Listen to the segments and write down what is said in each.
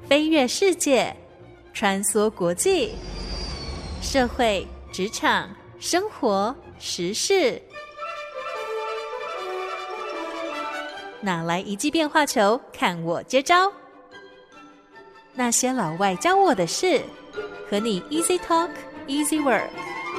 飛躍世界，穿梭國際，社會、職場、生活、時事，哪來一記變化球？看我接招！那些老外教我的事，和你 Easy Talk Easy Work。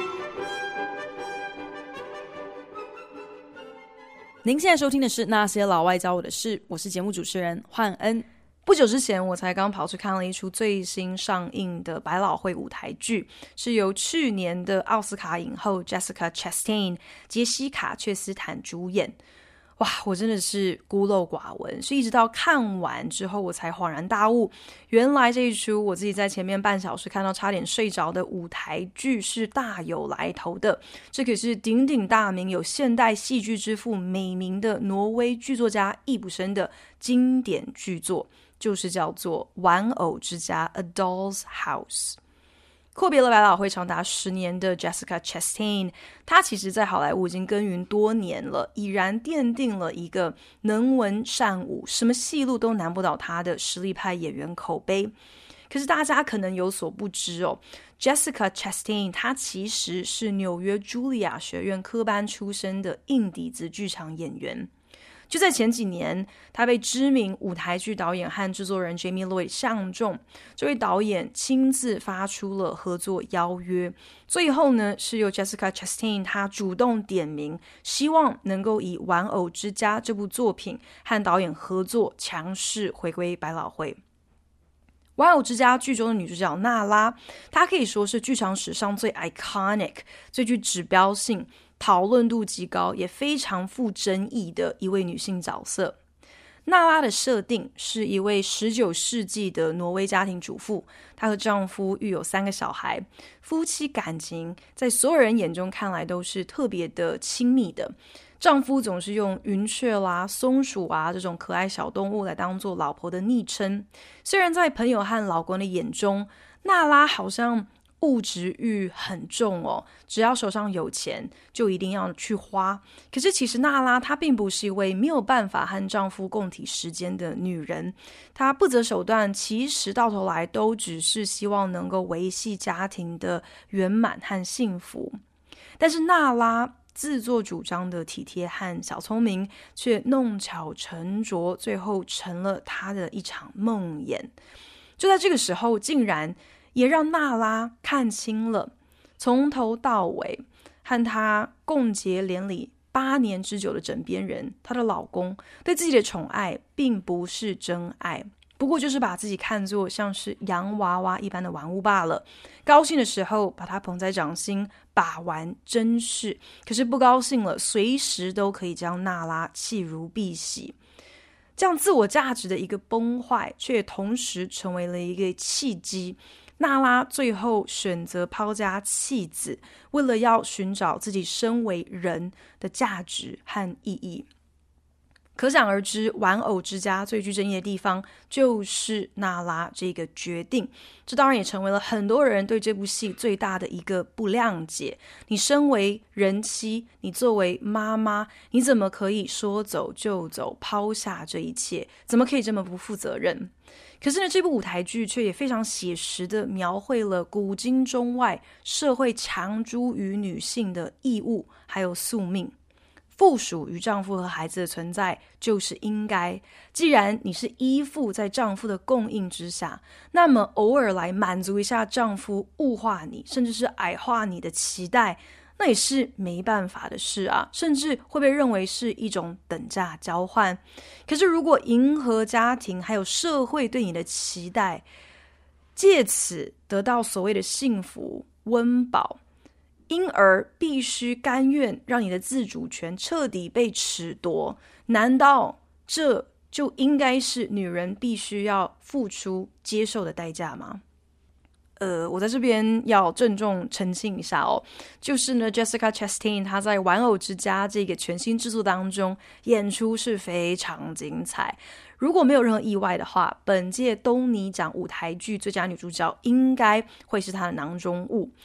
您現在收聽的是《那些老外教我的事》，我是節目主持人煥恩。不久之前，我才剛跑去看了一出最新上映的百老匯舞台劇，是由去年的奧斯卡影后 Jessica Chastain 傑西卡·卻斯坦主演。哇，我真的是孤陋寡聞，是一直到看完之後我才恍然大悟，原來這一出我自己在前面半小時看到差點睡着的舞台劇是大有來頭的。這可是鼎鼎大名，有現代戲劇之父美名的挪威劇作家易卜生的經典劇作，就是叫做《玩偶之家》A Doll's House。闊別了百老匯長達10年的 Jessica Chastain， 她其實在好萊塢已經耕耘多年了，已然奠定了一個能文善武，什麼戲路都難不倒她的實力派演員口碑。可是大家可能有所不知哦， Jessica Chastain 她其實是紐約茱莉亞學院科班出身的硬底子劇場演員。就在前幾年，他被知名舞台劇導演和制作人 Jamie Lloyd 相中，這位導演親自發出了合作邀約。最後呢，是由 Jessica Chastain 他主動點名，希望能夠以《玩偶之家》這部作品和導演合作，強勢回歸百老匯。《玩偶之家》劇中的女主角娜拉，她可以說是劇場史上最 iconic、最具指標性、討論度極高也非常富爭議的一位女性角色。娜拉的設定是一位19世紀的挪威家庭主婦，她和丈夫育有3個小孩，夫妻感情在所有人眼中看來都是特別的親密的。丈夫總是用雲雀啦、松鼠啊這種可愛小動物來當做老婆的昵稱。雖然在朋友和老公的眼中，娜拉好像物質慾很重哦，只要手上有錢就一定要去花。可是其實娜拉她並不是一位沒有辦法和丈夫共體時艱的女人，她不擇手段，其實到頭來都只是希望能夠維繫家庭的圓滿和幸福。但是娜拉自作主張的體貼和小聰明，卻弄巧成拙，最後成了她的一場夢魘。就在這個時候，竟然也讓娜拉看清了，從頭到尾和她共結連理8年之久的枕邊人，她的老公對自己的寵愛並不是真愛，不過就是把自己看作像是洋娃娃一般的玩物罷了。高興的時候把她捧在掌心把玩珍視，可是不高興了，隨時都可以將娜拉棄如敝屣。這樣自我價值的一個崩壞，卻也同時成為了一個契機。娜拉最後選擇拋家棄子，為了要尋找自己身為人的價值和意義。可想而知，玩偶之家最具爭議的地方就是娜拉這個決定。這當然也成為了很多人對這部戲最大的一個不諒解。你身為人妻，你作為媽媽，你怎麼可以說走就走，拋下這一切？怎麼可以這麼不負責任？可是呢，這部舞台劇卻也非常寫實地描繪了古今中外社會強諸於女性的義務還有宿命。附屬於丈夫和孩子的存在就是應該。既然你是依附在丈夫的供應之下，那麼偶爾來滿足一下丈夫物化你，甚至是矮化你的期待，那也是沒辦法的事啊，甚至會被認為是一種等價交換。可是如果迎合家庭還有社會對你的期待，借此得到所謂的幸福溫飽，因而必須甘願讓你的自主權徹底被褫奪，難道這就應該是女人必須要付出接受的代價嗎？我在這邊要鄭重澄清一下哦，就是呢 Jessica Chastain 她在《玩偶之家》這個全新制作當中演出是非常精彩。如果沒有任何意外的話，本屆東尼獎舞台劇最佳女主角應該會是她的囊中物。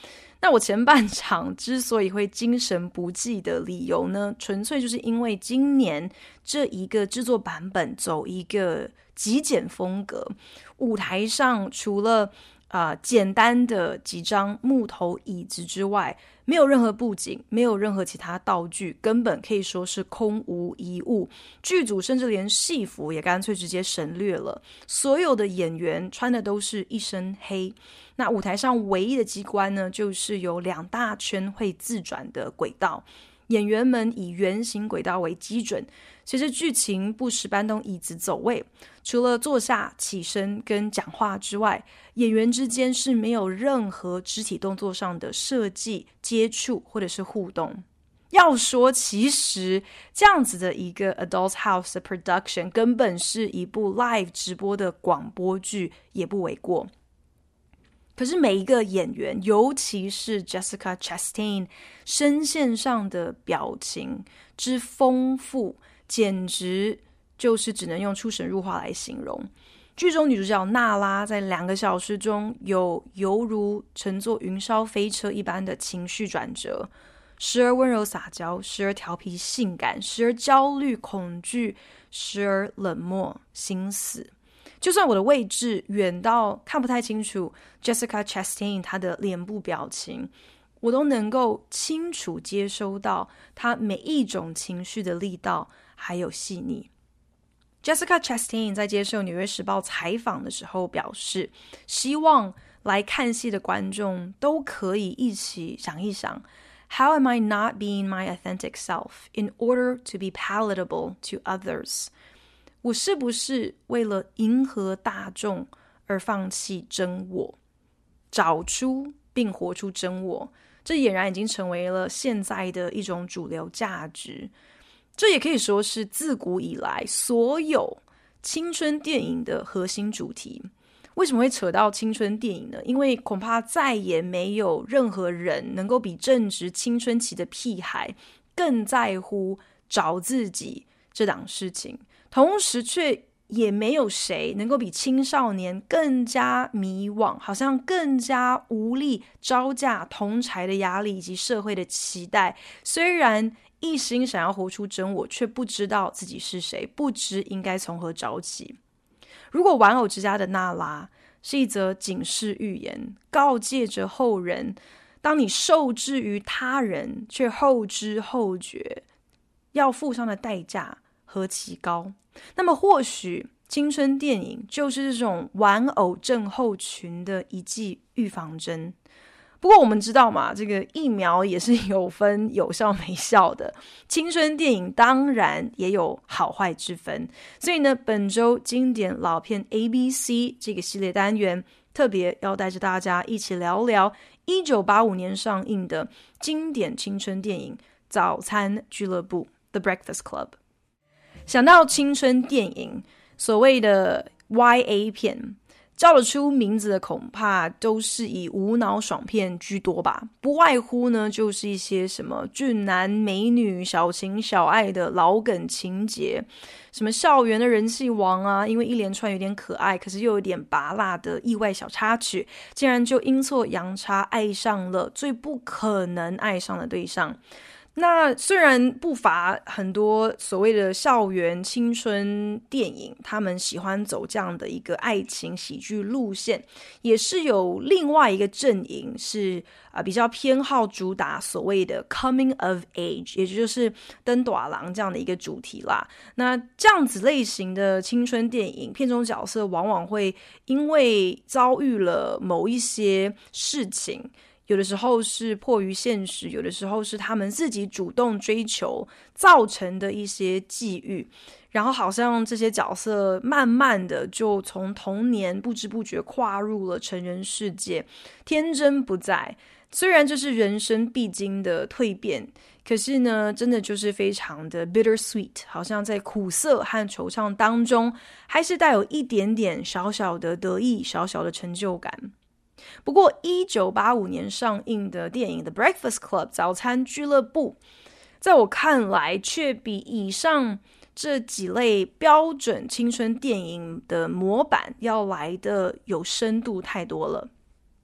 那我前半場之所以會精神不濟的理由呢，純粹就是因為今年這一個制作版本走一個極簡風格，舞台上除了簡單的幾張木頭椅子之外，沒有任何布景，沒有任何其他道具，根本可以說是空無一物。劇組甚至連戲服也乾脆直接省略了，所有的演員穿的都是一身黑。那舞台上唯一的機關呢，就是有2大圈會自轉的軌道，演員們以圓形軌道為基準，隨着劇情不時搬動椅子走位，除了坐下、起身跟講話之外，演員之間是沒有任何肢體動作上的設計、接觸或者是互動。要說其實這樣子的一個 Adult House 的 production 根本是一部 live 直播的廣播劇也不為過。可是每一個演員，尤其是 Jessica Chastain 聲線上的表情之豐富，簡直就是只能用出神入化來形容。劇中女主角娜拉在2個小時中有猶如乘坐雲霄飛車一般的情緒轉折，時而溫柔撒嬌，時而調皮性感，時而焦慮恐懼，時而冷漠心死。就算我的位置遠到看不太清楚 Jessica Chastain 她的臉部表情，我都能夠清楚接收到她每一種情緒的力道還有細膩。Jessica Chastain 在接受紐約時報採訪的時候表示，希望來看戲的觀眾都可以一起想一想， How am I not being my authentic self in order to be palatable to others？我是不是為了迎合大眾而放棄真我，找出並活出真我？這儼然已經成為了現在的一種主流價值。這也可以說是自古以來所有青春電影的核心主題。為什麼會扯到青春電影呢？因為恐怕再也沒有任何人能夠比正值青春期的屁孩更在乎找自己這檔事情，同時卻也沒有誰能夠比青少年更加迷惘，好像更加無力招架同儕的壓力以及社會的期待。雖然一心想要活出真我，卻不知道自己是誰，不知應該從何找起。如果玩偶之家的娜拉是一則警示寓言，告誡着後人，當你受制於他人卻後知後覺，要付上的代價何其高，那麼或許青春電影就是這種玩偶症候群的一劑預防針。不過我們知道嘛，這個疫苗也是有分有效沒效的，青春電影當然也有好壞之分。所以呢，本周經典老片 ABC 這個系列單元，特別要帶着大家一起聊聊1985年上映的經典青春電影《早餐俱樂部》The Breakfast Club。想到青春電影，所謂的 YA 片，叫得出名字的恐怕都是以無腦爽片居多吧，不外乎呢就是一些什麼俊男美女、小情小愛的老梗情節，什麼校園的人氣王啊，因為一連串有點可愛，可是又有點拔辣的意外小插曲，竟然就陰錯陽差愛上了最不可能愛上的對象。那雖然不乏很多所謂的校園青春電影，他們喜歡走這樣的一個愛情喜劇路線，也是有另外一個陣營是比較偏好主打所謂的 coming of age， 也就是登大人這樣的一個主題啦。那這樣子類型的青春電影，片中角色往往會因為遭遇了某一些事情，有的時候是迫於現實，有的時候是他們自己主動追求造成的一些際遇，然後好像這些角色慢慢的就從童年不知不覺跨入了成人世界，天真不在。雖然這是人生必經的蛻變，可是呢，真的就是非常的 bittersweet， 好像在苦澀和惆悵當中，還是帶有一點點小小的得意，小小的成就感。不過1985年上映的電影《The Breakfast Club》早餐俱樂部，在我看來卻比以上這幾類標準青春電影的模板要來的有深度太多了。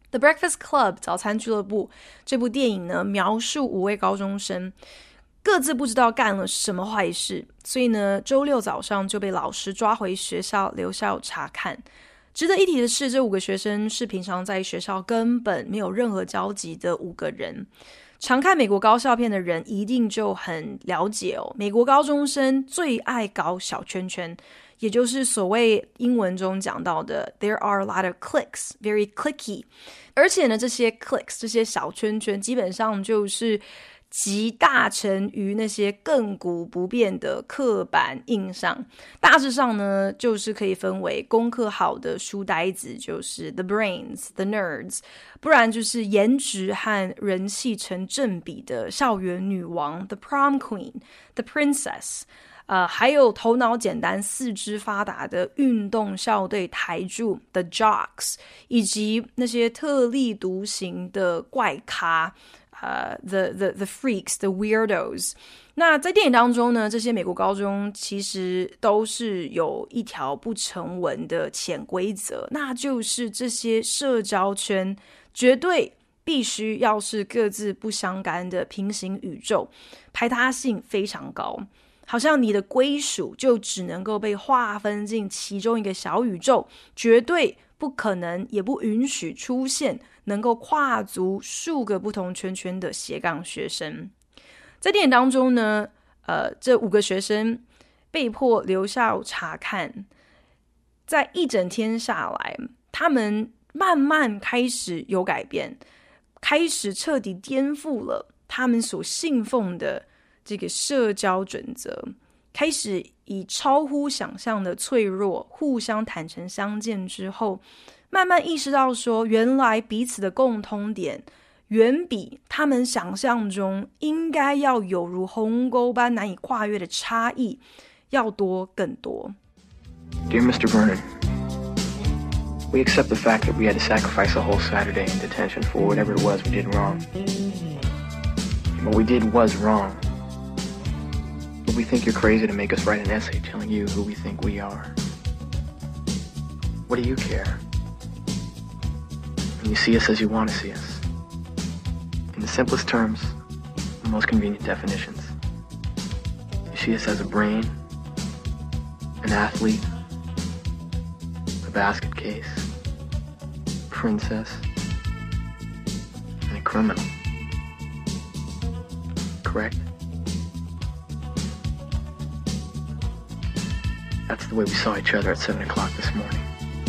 The Breakfast Club 早餐俱樂部這部電影呢，描述5位高中生各自不知道幹了什麼壞事，所以呢，週六早上就被老師抓回學校留校察看。值得一提的是，這5個學生是平常在學校根本沒有任何交集的5個人。常看美國高校片的人一定就很了解哦，美國高中生最愛搞小圈圈，也就是所謂英文中講到的 There are a lot of cliques, very cliquey。而且呢，這些 cliques 這些小圈圈基本上就是集大成於那些亘古不變的刻板印象。大致上呢，就是可以分為功課好的書呆子，就是 the brains, the nerds， 不然就是顏值和人氣成正比的校園女王 the prom queen, the princess，還有頭腦簡單、四肢發達的運動校隊台柱 the jocks， 以及那些特立獨行的怪咖the freaks, the weirdos。 那在電影當中呢，這些美國高中其實都是有一條不成文的潛規則，那就是這些社交圈絕對必須要是各自不相干的平行宇宙，排他性非常高，好像你的歸屬就只能夠被劃分進其中一個小宇宙，絕對不可能也不允許出現能夠跨足數個不同圈圈的斜槓學生。在電影當中呢，這5個學生被迫留校察看，在一整天下來，他們慢慢開始有改變，開始徹底顛覆了他們所信奉的這個社交準則，開始以超乎想象的脆弱互相坦誠相見之後，慢慢意識到說，原來彼此的共通點遠比他們想象中應該要有如鴻溝般難以跨越的差異要多更多。 Dear Mr. Vernon, we accept the fact that we had to sacrifice a whole Saturday in detention for whatever it was we did wrong. What we did was wrong. But we think you're crazy to make us write an essay telling you who we think we are. What do you care? And you see us as you want to see us. In the simplest terms, the most convenient definitions. You see us as a brain, an athlete, a basket case, a princess, and a criminal. Correct? That's the way we saw each other at 7 o'clock this morning.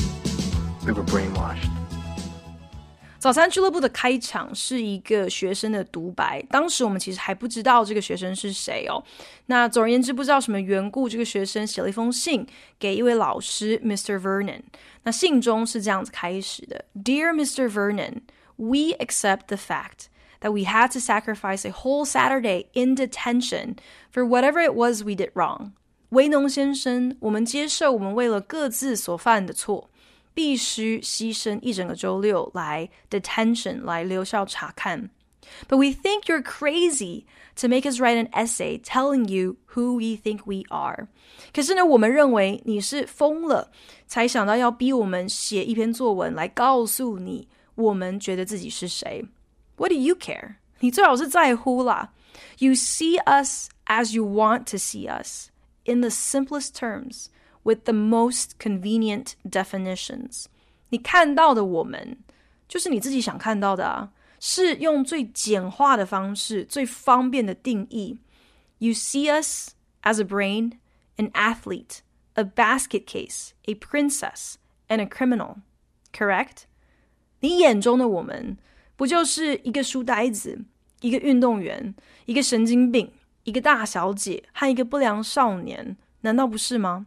We were brainwashed. 早餐俱樂部的開場是一個學生的獨白，當時我們其實還不知道這個學生是誰哦。那總而言之，不知道什麼緣故，這個學生寫了一封信給一位老師 Mr. Vernon。那信中是這樣子開始的 Dear Mr. Vernon, we accept the fact that we had to sacrifice a whole Saturday in detention for whatever it was we did wrong. 維農先生，我們接受我們為了各自所犯的錯，必須犧牲一整個週六來 detention 來留校察看。But we think you're crazy to make us write an essay telling you who we think we are. 可是呢，我們認為你是瘋了，才想到要逼我們寫一篇作文來告訴你我們覺得自己是誰。What do you care? 你最好是在乎啦。You see us as you want to see us, in the simplest terms, with the most convenient definitions. 你看到的我們，就是你自己想看到的啊，是用最簡化的方式，最方便的定義。You see us as a brain, an athlete, a basket case, a princess, and a criminal. Correct? 你眼中的我們，不就是一個書呆子，一個運動員，一個神經病，一個大小姐和一個不良少年，難道不是嗎？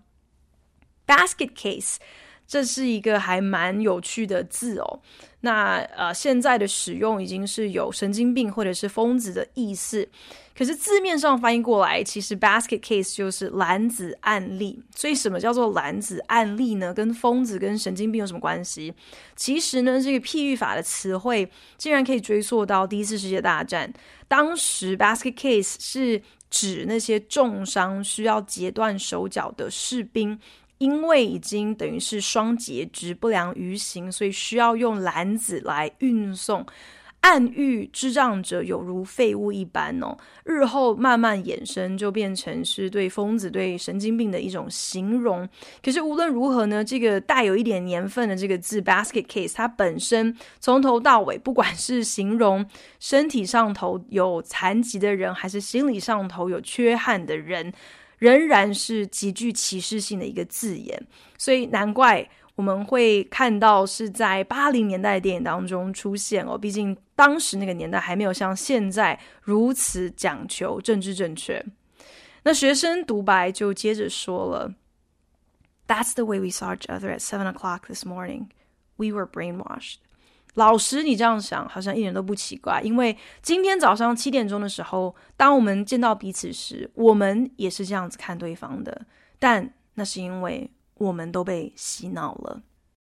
Basket case 這是一個還蠻有趣的字哦。那現在的使用已經是有神經病或者是瘋子的意思，可是字面上翻譯過來，其實 basket case 就是籃子案例。所以什麼叫做籃子案例呢？跟瘋子跟神經病有什麼關係？其實呢，這個譬喻法的詞彙竟然可以追溯到第一次世界大戰。當時 basket case 是指那些重傷需要截斷手腳的士兵， 因為已經等於是雙截肢不良於行，所以需要用籃子來運送，暗喻智障者有如廢物一般哦。日後慢慢衍生，就變成是對瘋子、對神經病的一種形容。可是無論如何呢，這個帶有一點年份的這個字 basket case， 它本身從頭到尾，不管是形容身體上頭有殘疾的人，還是心理上頭有缺憾的人，仍然是極具歧視性的一個字眼。所以難怪我們會看到是在80年代的電影當中出現哦，畢竟當時那個年代還沒有像現在如此講求政治正確。那學生獨白就接着說了 That's the way we saw each other at 7 o'clock this morning. We were brainwashed. 老師，你這樣想好像一點都不奇怪，因為今天早上7點鐘的時候，當我們見到彼此時，我們也是這樣子看對方的，但那是因為我們都被洗腦了。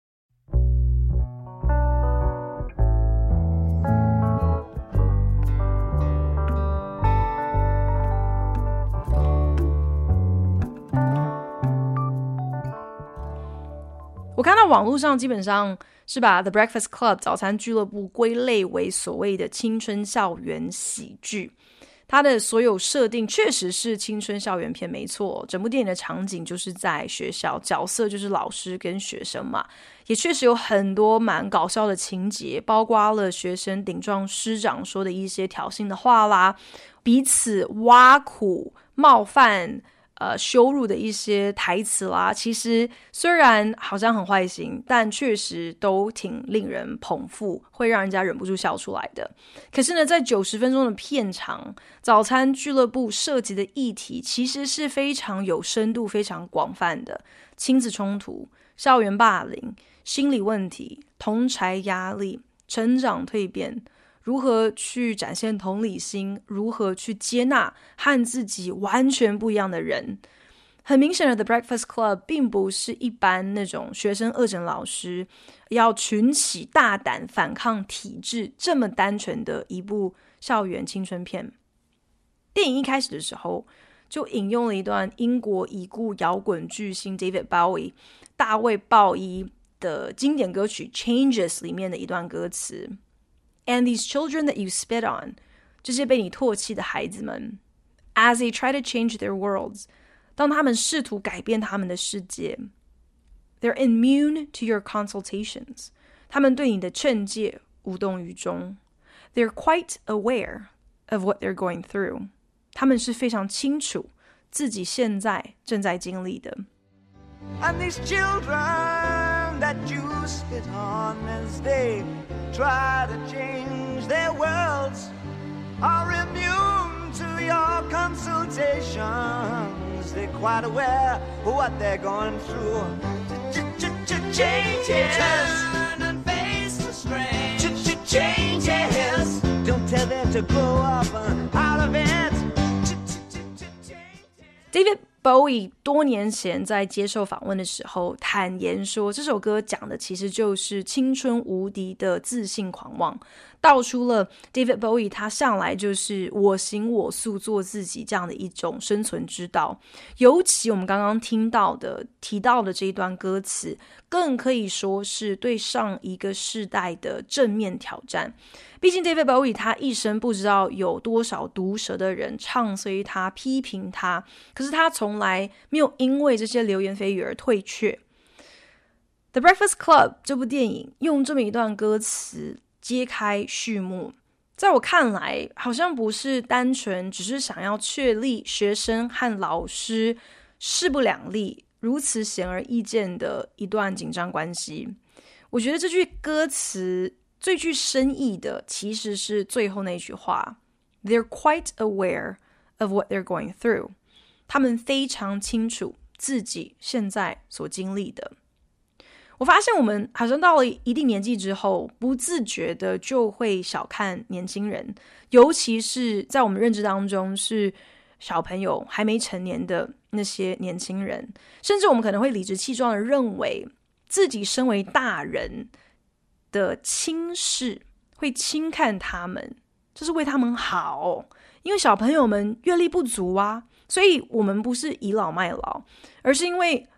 我看到網絡上基本上是把 The Breakfast Club 早餐俱樂部歸類為所謂的青春校園喜劇。它的所有設定確實是青春校園片，沒錯。整部電影的場景就是在學校，角色就是老師跟學生嘛，也確實有很多蠻搞笑的情節，包括了學生頂撞師長說的一些挑釁的話啦，彼此挖苦、冒犯、羞辱的一些台詞啦，其實雖然好像很壞心，但確實都挺令人捧腹，會讓人家忍不住笑出來的。可是呢，在90分鐘的片長，早餐俱樂部涉及的議題其實是非常有深度、非常廣泛的，親子衝突、校園霸凌、心理問題、同儕壓力、成長蛻變，如何去展現同理心，如何去接納和自己完全不一樣的人。很明顯的 The Breakfast Club 並不是一般那種學生惡整老師要群起大膽反抗體制這麼單純的一部校園青春片。電影一開始的時候就引用了一段英國已故搖滾巨星 David Bowie 大衛鮑伊的經典歌曲 Changes 裡面的一段歌詞And these children that you spit on, 這些被你唾棄的孩子們 as they try to change their worlds, 當他們試圖改變他們的世界 they're immune to your consultations, 他們對你的勸誡無動於衷 they're quite aware of what they're going through, 他們是非常清楚自己現在正在經歷的 And these children that you spit on as they try to change their worlds are immune to your consultations. They're quite aware of what they're going through. Changes. Turn and face the strange. Changes. Don't tell them to grow up out of it. David Bowie 多年前在接受訪問的時候坦言說，這首歌講的其實就是青春無敵的自信狂妄，道出了 David Bowie 他向來就是我行我素做自己這樣的一種生存之道。尤其我們剛剛提到的這一段歌詞，更可以說是對上一個世代的正面挑戰。畢竟 David Bowie 他一生不知道有多少毒舌的人唱衰他、批評他，可是他從來沒有因為這些流言蜚語而退卻。The Breakfast Club 這部電影用這麼一段歌詞揭開序幕，在我看來好像不是單純只是想要確立學生和老師勢不兩立、如此顯而易見的一段緊張關係。我覺得這句歌詞最具深意的其實是最後那句話 They're quite aware of what they're going through. 他們非常清楚自己現在所經歷的。我發現我們好像到了一定年紀之後，不自覺的就會小看年輕人，尤其是在我們認知當中是小朋友還沒成年的那些年輕人，甚至我們可能會理直氣壯的認為自己身為大人的輕視，會輕看他們，這是為他們好，因為小朋友們閱歷不足啊，所以我們不是倚老賣老，而是因為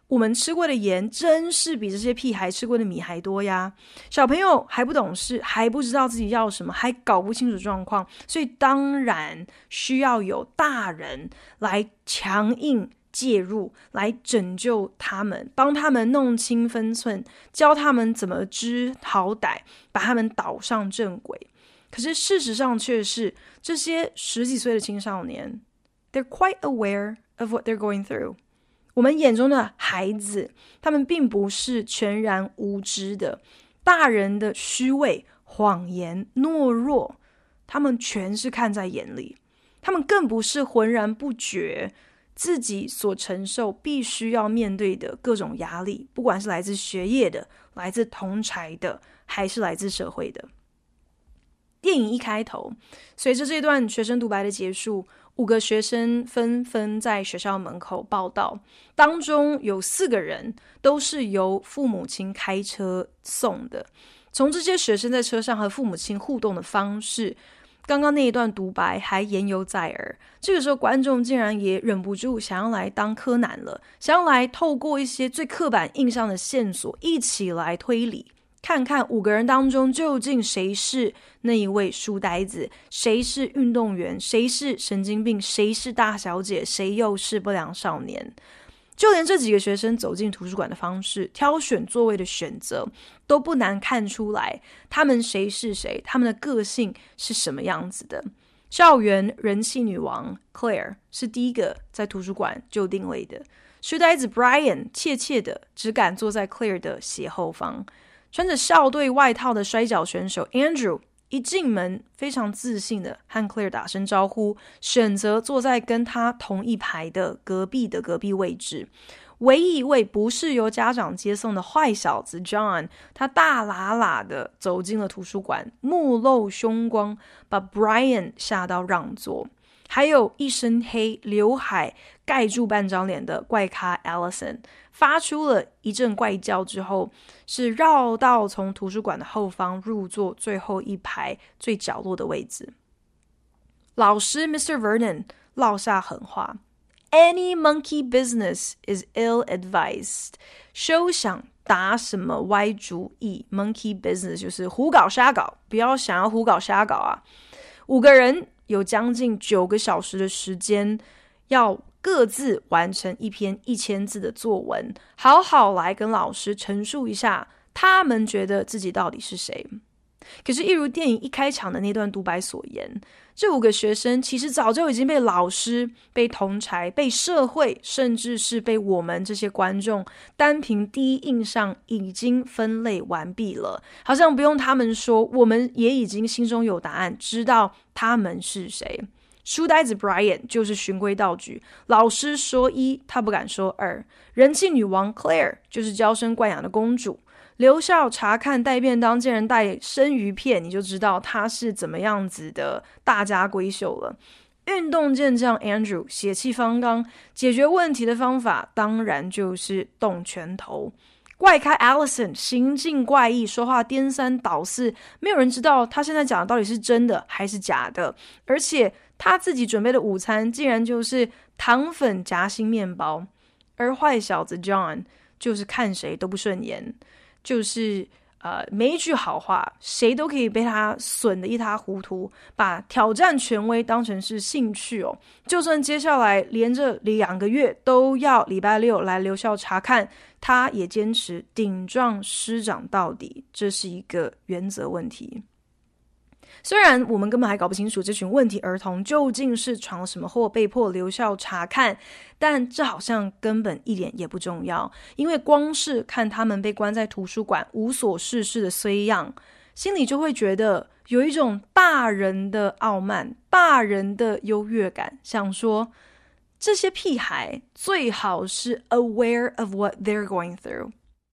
我們吃過的鹽真是比這些屁孩吃過的米還多呀。小朋友還不懂事，還不知道自己要什麼，還搞不清楚狀況，所以當然需要有大人來強硬介入，來拯救他們，幫他們弄清分寸，教他們怎麼知好歹，把他們導上正軌。可是事實上卻是，這些10幾歲的青少年 they're quite aware of what they're going through。我們眼中的孩子，他們並不是全然無知的，大人的虛偽、謊言、懦弱，他們全是看在眼裡。他們更不是渾然不覺自己所承受必須要面對的各種壓力，不管是來自學業的、來自同儕的，還是來自社會的。電影一開頭，隨着這段學生獨白的結束，5個學生紛紛在學校門口報到，當中有4個人都是由父母親開車送的。從這些學生在車上和父母親互動的方式，剛剛那一段獨白還言猶在耳。這個時候，觀眾竟然也忍不住想要來當柯南了，想要來透過一些最刻板印象的線索，一起來推理。看看5個人當中究竟誰是那一位書呆子，誰是運動員，誰是神經病，誰是大小姐，誰又是不良少年。就連這幾個學生走進圖書館的方式，挑選座位的選擇，都不難看出來他們誰是誰，他們的個性是什麼樣子的。校園人氣女王 Claire 是第一個在圖書館就定位的，書呆子 Brian 怯怯的只敢坐在 Claire 的斜後方。穿着校隊外套的摔角選手 Andrew 一進門非常自信的和 Claire 打聲招呼，選擇坐在跟他同一排的隔壁位置。唯一一位不是由家長接送的壞小子 John， 他大喇喇的走進了圖書館，目露凶光，把 Brian 嚇到讓座。還有一身黑，劉海蓋住半張臉的怪咖 Allison， 發出了一陣怪叫之後，是繞到從圖書館的後方入座最後一排最角落的位置。老師 Mr. Vernon 落下狠話 ：Any monkey business is ill-advised。休想打什麼歪主意 ，monkey business 就是胡搞瞎搞，不要想要胡搞瞎搞啊！5個人有將近9個小時的時間，要各自完成一篇1000字的作文，好好來跟老師陳述一下他們覺得自己到底是誰。可是，一如電影一開場的那段獨白所言，這5個學生其實早就已經被老師、被同儕、被社會，甚至是被我們這些觀眾，單憑第一印象已經分類完畢了。好像不用他們說，我們也已經心中有答案，知道他們是誰。書呆子 Brian 就是循規蹈矩，老師說1，他不敢說2。人氣女王 Claire 就是嬌生慣養的公主。留校察看帶便當，竟然帶生魚片，你就知道他是怎麼樣子的大家閨秀了。運動健將 Andrew 血氣方剛，解決問題的方法當然就是動拳頭。怪咖 Allison 行徑怪異，說話顛三倒四，沒有人知道他現在講的到底是真的還是假的。而且他自己準備的午餐竟然就是糖粉夾心麵包，而壞小子 John 就是看誰都不順眼。就是沒一句好話，誰都可以被他損得一塌糊塗，把挑戰權威當成是興趣哦。就算接下來連着2個月都要禮拜6來留校查看，他也堅持頂撞師長到底，這是一個原則問題。雖然我們根本還搞不清楚這群問題兒童究竟是闖了什麼禍，被迫留校查看，但這好像根本一點也不重要，因為光是看他們被關在圖書館無所事事的衰樣，心裡就會覺得有一種大人的傲慢，大人的優越感，想說這些屁孩最好是 aware of what they're going through。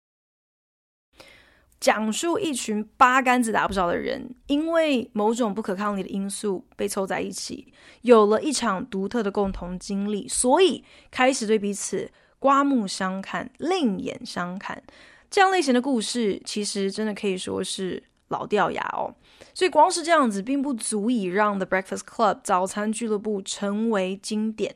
講述一群八竿子打不着的人，因為某種不可抗力的因素被湊在一起，有了一場獨特的共同經歷，所以開始對彼此刮目相看、另眼相看。這樣類型的故事其實真的可以說是老掉牙哦。所以光是這樣子並不足以讓 The Breakfast Club 早餐俱樂部成為經典。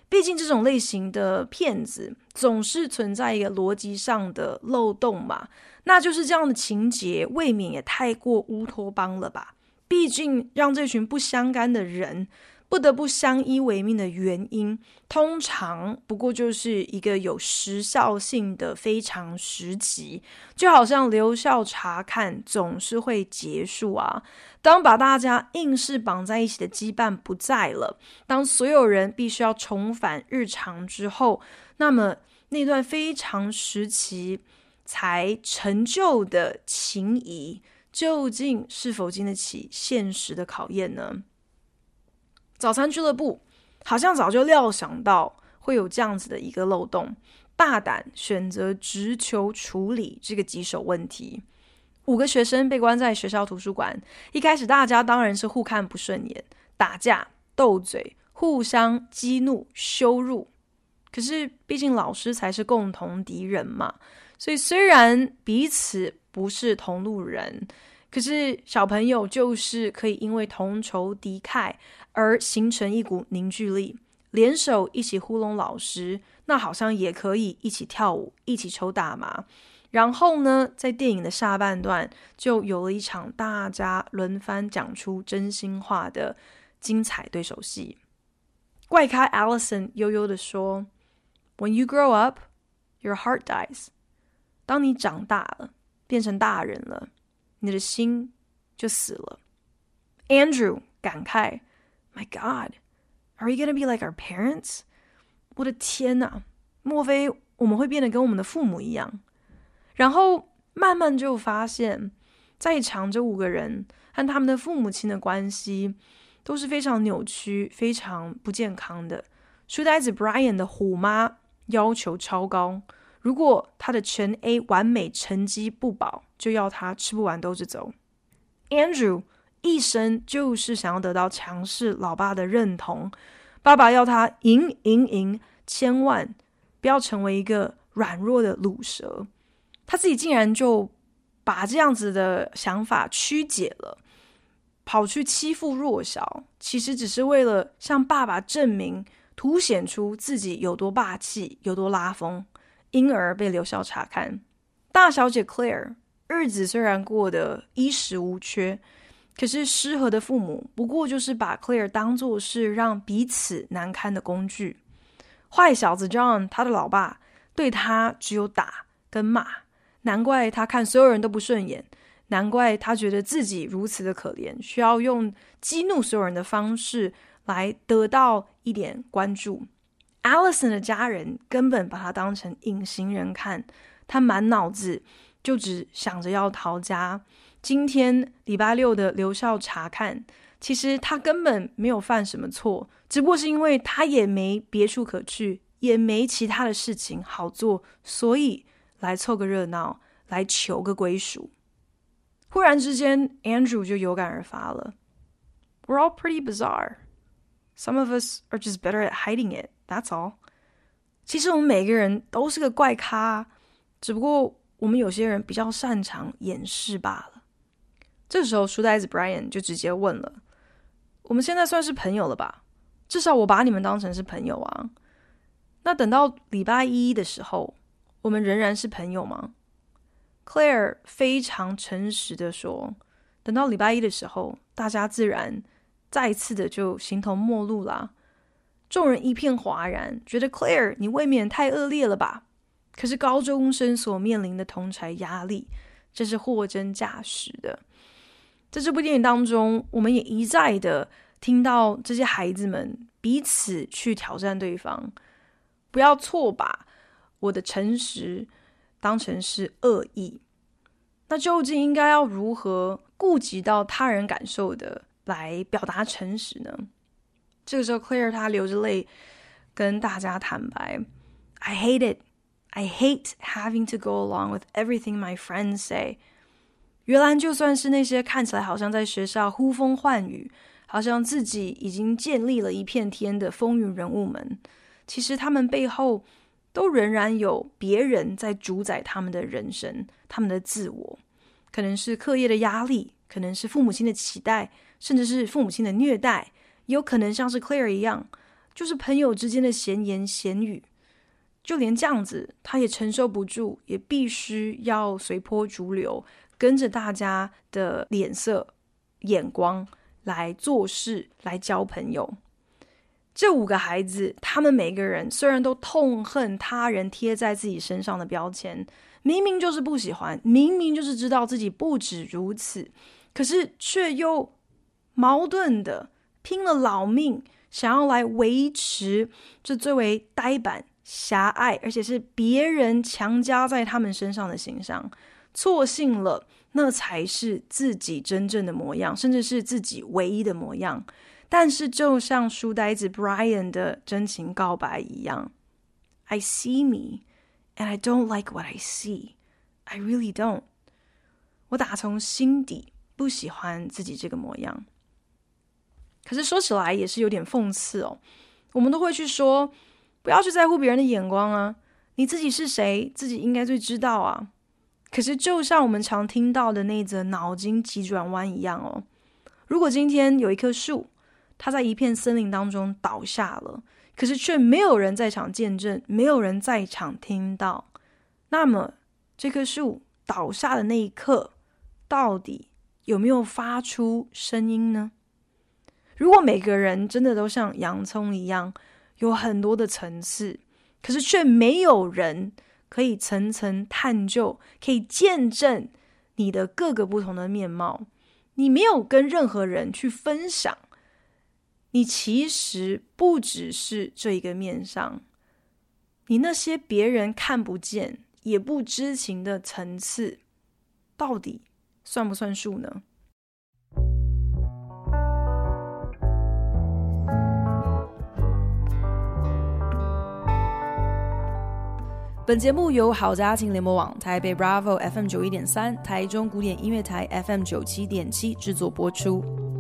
畢竟這種類型的騙子總是存在一個邏輯上的漏洞嘛，那就是這樣的情節未免也太過烏托邦了吧。畢竟讓這群不相干的人不得不相依為命的原因，通常不過就是一個有時效性的非常時期，就好像留校察看總是會結束啊。當把大家硬是綁在一起的羈絆不在了，當所有人必須要重返日常之後，那麼那段非常時期才成就的情誼，究竟是否經得起現實的考驗呢？早餐俱樂部好像早就料想到會有這樣子的一個漏洞，大膽選擇直球處理這個棘手問題。5個學生被關在學校圖書館，一開始大家當然是互看不順眼，打架、鬥嘴，互相激怒、羞辱。可是畢竟老師才是共同敵人嘛，所以雖然彼此不是同路人，可是小朋友就是可以因為同仇敵愾而形成一股凝聚力，聯手一起糊弄老師，那好像也可以一起跳舞，一起抽大麻。然後呢，在電影的下半段就有了一場大家輪番講出真心話的精彩對手戲。怪咖 Allison 悠悠地說， When you grow up, your heart dies. 當你長大了，變成大人了，你的心就死了。Andrew 感慨， My God, are we gonna be like our parents? 我的天哪，莫非我們會變得跟我們的父母一樣？然後慢慢就發現，在場這5個人和他們的父母親的關係都是非常扭曲、非常不健康的。書呆子 Brian 的虎媽要求超高，如果他的全 A 完美成績不保，就要他吃不完兜着走。Andrew 一生就是想要得到強勢老爸的認同，爸爸要他贏，千萬不要成為一個軟弱的魯蛇。他自己竟然就把這樣子的想法曲解了，跑去欺負弱小，其實只是為了向爸爸證明，凸顯出自己有多霸氣，有多拉風，因而被留校察看。大小姐 Claire 日子雖然過得衣食無缺，可是失和的父母不過就是把 Claire 當作是讓彼此難堪的工具。壞小子 John 他的老爸對他只有打跟罵，難怪他看所有人都不順眼，難怪他覺得自己如此的可憐，需要用激怒所有人的方式來得到一點關注。Allison 的家人根本把他當成隱形人看，他滿腦子就只想着要逃家。今天禮拜6的留校察看，其實他根本沒有犯什麼錯，只不過是因為他也沒別處可去，也沒其他的事情好做，所以來湊個熱鬧，來求個歸屬。忽然之間 Andrew 就有感而發了， We're all pretty bizarre. Some of us are just better at hiding it, that's all. 其實我們每個人都是個怪咖，只不過我們有些人比較擅長掩飾罷了。這時候書呆子 Brian 就直接問了，我們現在算是朋友了吧？至少我把你們當成是朋友啊。那等到禮拜1的時候，我們仍然是朋友嗎？ Claire 非常誠實的說，等到禮拜1的時候，大家自然再一次的就形同陌路啦。眾人一片嘩然，覺得 Claire 你未免太惡劣了吧？可是高中生所面臨的同儕壓力，這是貨真價實的。在這部電影當中，我們也一再的聽到這些孩子們彼此去挑戰對方，不要錯把我的誠實當成是惡意。那究竟應該要如何顧及到他人感受的來表達誠實呢？這個時候 Claire 她流着淚跟大家坦白， I hate it. I hate having to go along with everything my friends say. 原來就算是那些看起來好像在學校呼風喚雨，好像自己已經建立了一片天的風雲人物們，其實他們背後都仍然有別人在主宰他們的人生，他們的自我。可能是課業的壓力，可能是父母親的期待，甚至是父母親的虐待，也有可能像是 Claire 一樣， 就是朋友之間的閒言閒語，就連這樣子他也承受不住，也必須要隨波逐流，跟着大家的臉色眼光來做事，來交朋友。這5個孩子，他們每個人雖然都痛恨他人貼在自己身上的標籤，明明就是不喜歡，明明就是知道自己不止如此，可是卻又矛盾的拼了老命，想要來維持這最為呆板、狹隘，而且是別人強加在他們身上的形象，錯信了那才是自己真正的模樣，甚至是自己唯一的模樣。但是就像書呆子 Brian 的真情告白一樣， I see me and I don't like what I see. I really don't. 我打從心底不喜歡自己這個模樣。可是說起來也是有點諷刺哦，我們都會去說不要去在乎別人的眼光啊，你自己是誰，自己應該最知道啊。可是就像我們常聽到的那則腦筋急轉彎一樣哦，如果今天有一棵樹，它在一片森林當中倒下了，可是卻沒有人在場見證，沒有人在場聽到，那麼這棵樹倒下的那一刻，到底有沒有發出聲音呢？如果每個人真的都像洋蔥一樣，有很多的層次，可是卻沒有人可以層層探究，可以見證你的各個不同的面貌，你沒有跟任何人去分享，你其實不只是這一個面上，你那些別人看不見也不知情的層次，到底算不算數呢？本節目由好家庭聯播網、台北 Bravo FM 91.3、台中古典音樂台 FM 97.7製作播出。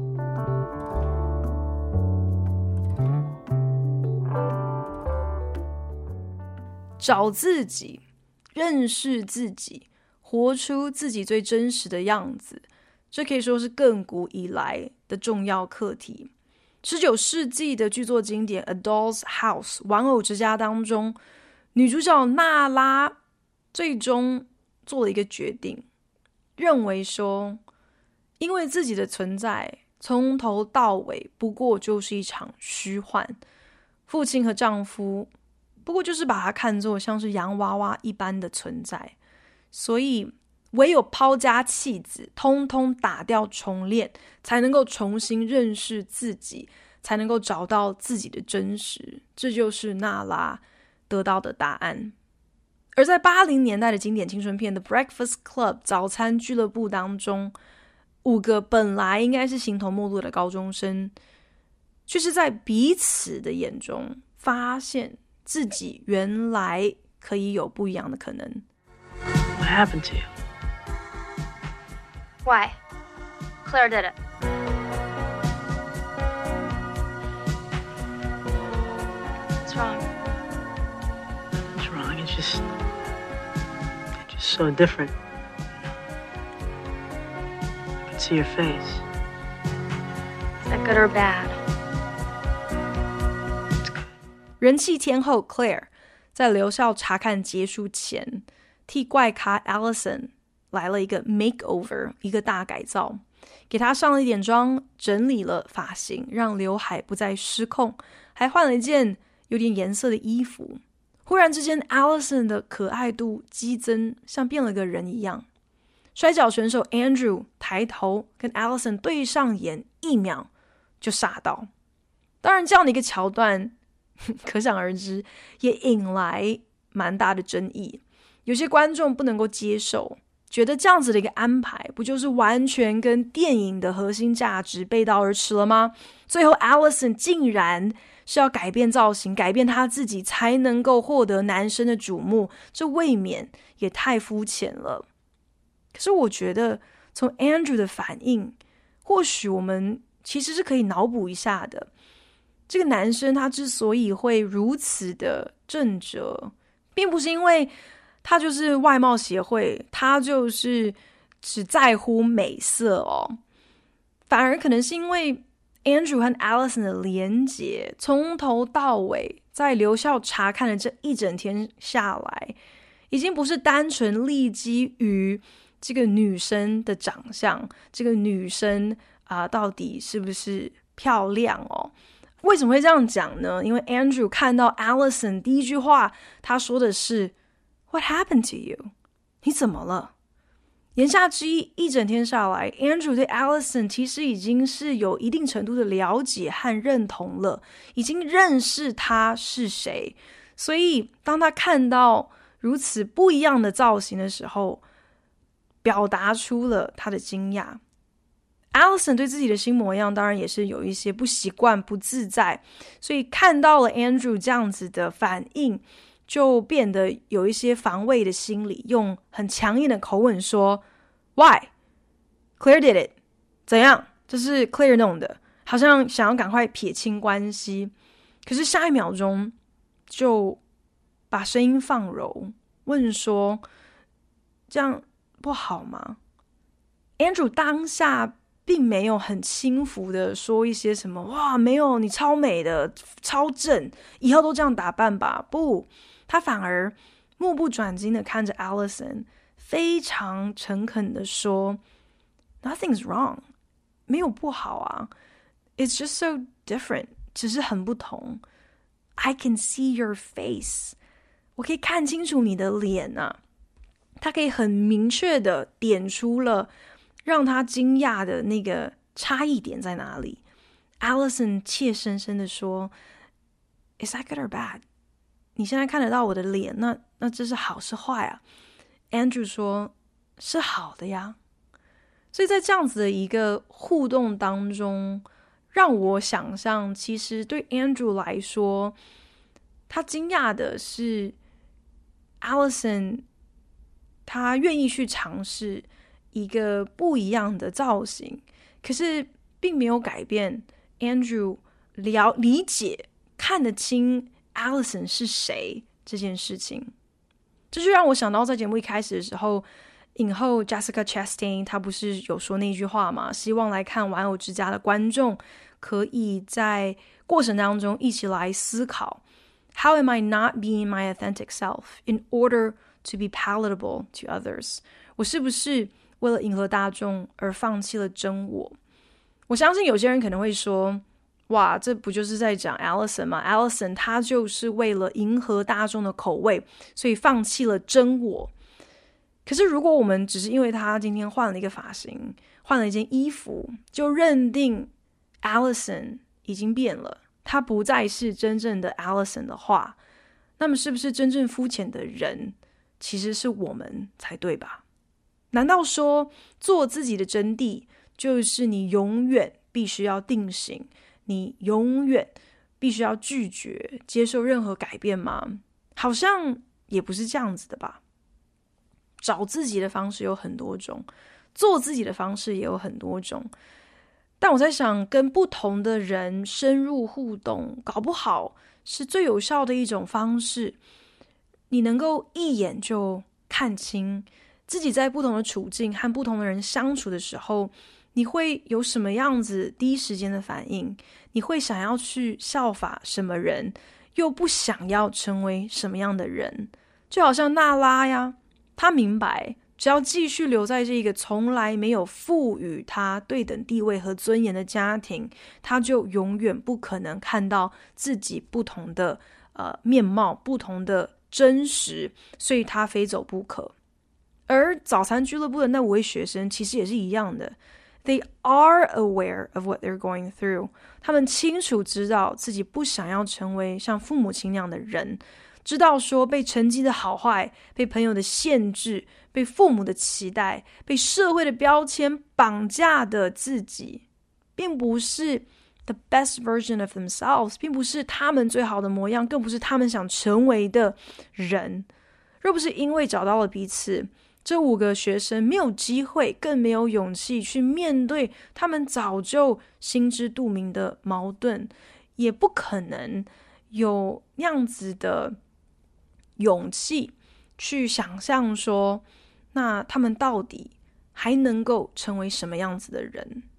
找自己，認識自己，活出自己最真實的樣子，這可以說是亘古以來的重要課題。19世紀的劇作經典《A Doll's House》玩偶之家當中，女主角娜拉最終做了一個決定，認為說，因為自己的存在從頭到尾不過就是一場虛幻，父親和丈夫不過就是把它看作像是洋娃娃一般的存在，所以唯有拋家棄子，通通打掉重練，才能夠重新認識自己，才能夠找到自己的真實。這就是娜拉得到的答案。而在80年代的經典青春片《The Breakfast Club》早餐俱樂部當中，5個本來應該是形同陌路的高中生，卻是在彼此的眼中發現自己原來可以有不一樣的可能。 What happened to you? Why? Claire did it. What's wrong? What's wrong? It's just so different. I can see your face. Is that good or bad? 人氣天后 Claire 在留校查看結束前，替怪咖 Allison 來了一個 makeover， 一個大改造，給她上了一點妝，整理了髮型，讓劉海不再失控，還換了一件有點顏色的衣服。忽然之間 Allison 的可愛度激增，像變了個人一樣。摔跤選手 Andrew 抬頭跟 Allison 對上眼，1秒就傻到。當然這樣的一個橋段可想而知，也引來蠻大的爭議。有些觀眾不能夠接受，覺得這樣子的一個安排，不就是完全跟電影的核心價值背道而馳了嗎？最後 Allison 竟然是要改變造型，改變他自己，才能夠獲得男生的矚目，這未免也太膚淺了。可是我覺得，從 Andrew 的反應，或許我們其實是可以腦補一下的。這個男生他之所以會如此的正直，並不是因為他就是外貌協會，他就是只在乎美色哦，反而可能是因為 Andrew 和 Allison 的連結，從頭到尾在留校查看了這一整天下來，已經不是單純立基於這個女生的長相，這個女生到底是不是漂亮哦？為什麼會這樣講呢？因為 Andrew 看到 Allison 第一句話，他說的是 What happened to you？ 你怎麼了？言下之意，一整天下來 Andrew 對 Allison 其實已經是有一定程度的了解和認同了，已經認識他是誰。所以當他看到如此不一樣的造型的時候，表達出了他的驚訝。Allison 對自己的新模樣當然也是有一些不習慣、不自在，所以看到了 Andrew 這樣子的反應，就變得有一些防衛的心理，用很強硬的口吻說 Why? Claire did it. 怎樣？這是 Claire 弄的，好像想要趕快撇清關係。可是下一秒鐘就把聲音放柔，問說這樣不好嗎？ Andrew 當下並沒有很輕浮的說一些什麼哇，沒有，你超美的，超正，以後都這樣打扮吧。不，他反而目不轉睛的看着 Allison， 非常誠懇的說 Nothing's wrong， 沒有不好啊， It's just so different， 只是很不同。 I can see your face， 我可以看清楚你的臉啊。他可以很明確的點出了讓他驚訝的那個差異點在哪裡。 Allison 怯生生的說 Is that good or bad？ 你現在看得到我的臉，那這是好是壞啊？ Andrew 說是好的呀。所以在這樣子的一個互動當中，讓我想象其實對 Andrew 來說，他驚訝的是 Allison 他願意去嘗試一個不一樣的造型，可是並沒有改變 Andrew 理解看得清 Allison 是誰這件事情。這就讓我想到在節目一開始的時候，影後 Jessica Chastain 她不是有說那句話嗎？希望來看玩偶之家的觀眾可以在過程當中一起來思考 How am I not being my authentic self in order to be palatable to others？ 我是不是為了迎合大眾而放棄了真我？我相信有些人可能會說，哇，這不就是在講 Allison 嗎？ Allison 她就是為了迎合大眾的口味，所以放棄了真我。可是如果我們只是因為她今天換了一個髮型，換了一件衣服，就認定 Allison 已經變了，她不再是真正的 Allison 的話，那麼是不是真正膚淺的人其實是我們才對吧？難道說做自己的真諦就是你永遠必須要定型，你永遠必須要拒絕接受任何改變嗎？好像也不是這樣子的吧。找自己的方式有很多種，做自己的方式也有很多种，但我在想，跟不同的人深入互動，搞不好是最有效的一種方式。你能夠一眼就看清自己在不同的處境和不同的人相處的時候，你會有什麼樣子第一時間的反應？你會想要去效法什麼人，又不想要成為什麼樣的人？就好像娜拉呀，她明白，只要繼續留在這個從來沒有賦予她對等地位和尊嚴的家庭，她就永遠不可能看到自己不同的面貌，不同的真實，所以她非走不可。而早餐俱樂部的那5位學生其實也是一樣的， They are aware of what they're going through， 他們清楚知道自己不想要成為像父母親那樣的人，知道說被成績的好壞，被朋友的限制，被父母的期待，被社會的標籤綁架的自己，並不是 the best version of themselves， 並不是他們最好的模樣，更不是他們想成為的人。若不是因為找到了彼此，這5個學生沒有機會，更沒有勇氣去面對他們早就心知肚明的矛盾，也不可能有那樣子的勇氣去想象說，那他們到底還能夠成為什麼樣子的人？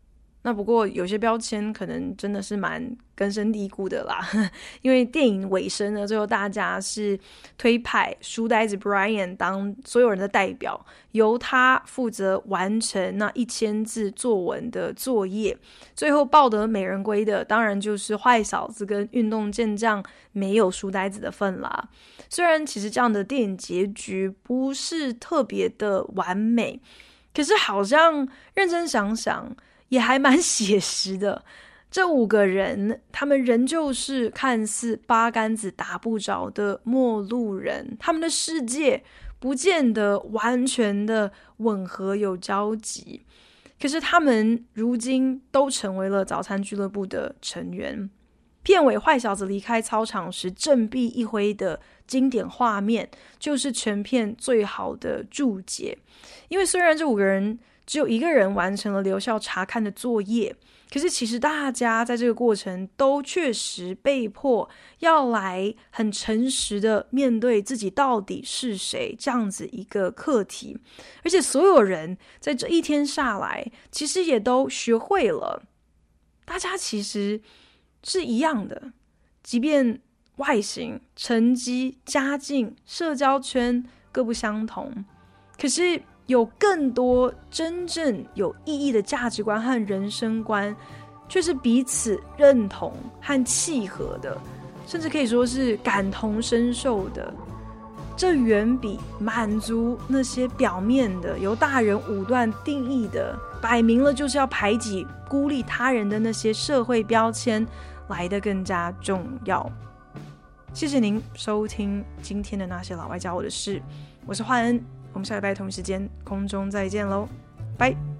那不過有些標籤可能真的是蠻根深蒂固的啦，因為電影尾聲呢，最後大家是推派書呆子 Brian 當所有人的代表，由他負責完成那1000字作文的作業，最後抱得美人歸的當然就是壞小子跟運動健將，沒有書呆子的份啦。雖然其實這樣的電影結局不是特別的完美，可是好像認真想想也還蠻寫實的。這5個人，他們仍舊是看似八竿子打不着的陌路人，他們的世界不見得完全的吻合有交集，可是他們如今都成為了早餐俱樂部的成員。片尾壞小子離開操場時振臂一揮的經典畫面，就是全片最好的注解。因為雖然這5個人只有1個人完成了留校察看的作業，可是其實大家在這個過程都確實被迫要來很誠實的面對自己到底是誰這樣子一個課題。而且所有人在這一天下來，其實也都學會了，大家其實是一樣的，即便外形、成績、家境、社交圈各不相同，可是有更多真正有意義的價值觀和人生觀，卻是彼此認同和契合的，甚至可以說是感同身受的。這遠比滿足那些表面的、由大人武斷定義的、擺明了就是要排擠、孤立他人的那些社會標籤來得更加重要。謝謝您收聽今天的那些老外教我的事，我是煥恩，我們下禮拜同一時間空中再見嘍，拜。